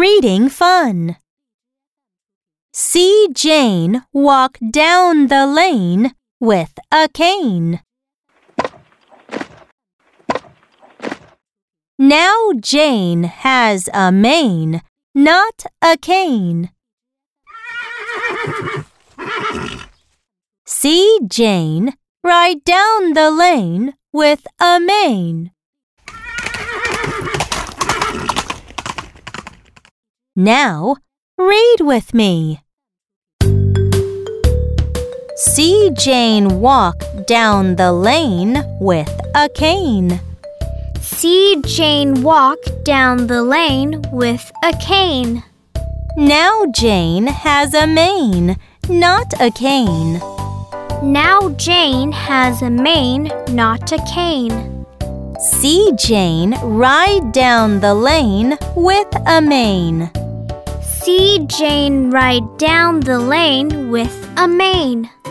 reading fun. See Jane walk down the lane with a cane. Now Jane has a mane, not a cane. See Jane ride down the lane with a mane. Now, read with me. See Jane walk down the lane with a cane. See Jane walk down the lane with a cane. Now Jane has a mane, not a cane. Now Jane has a mane, not a cane. See Jane ride down the lane with a mane. See Jane ride down the lane with a mane.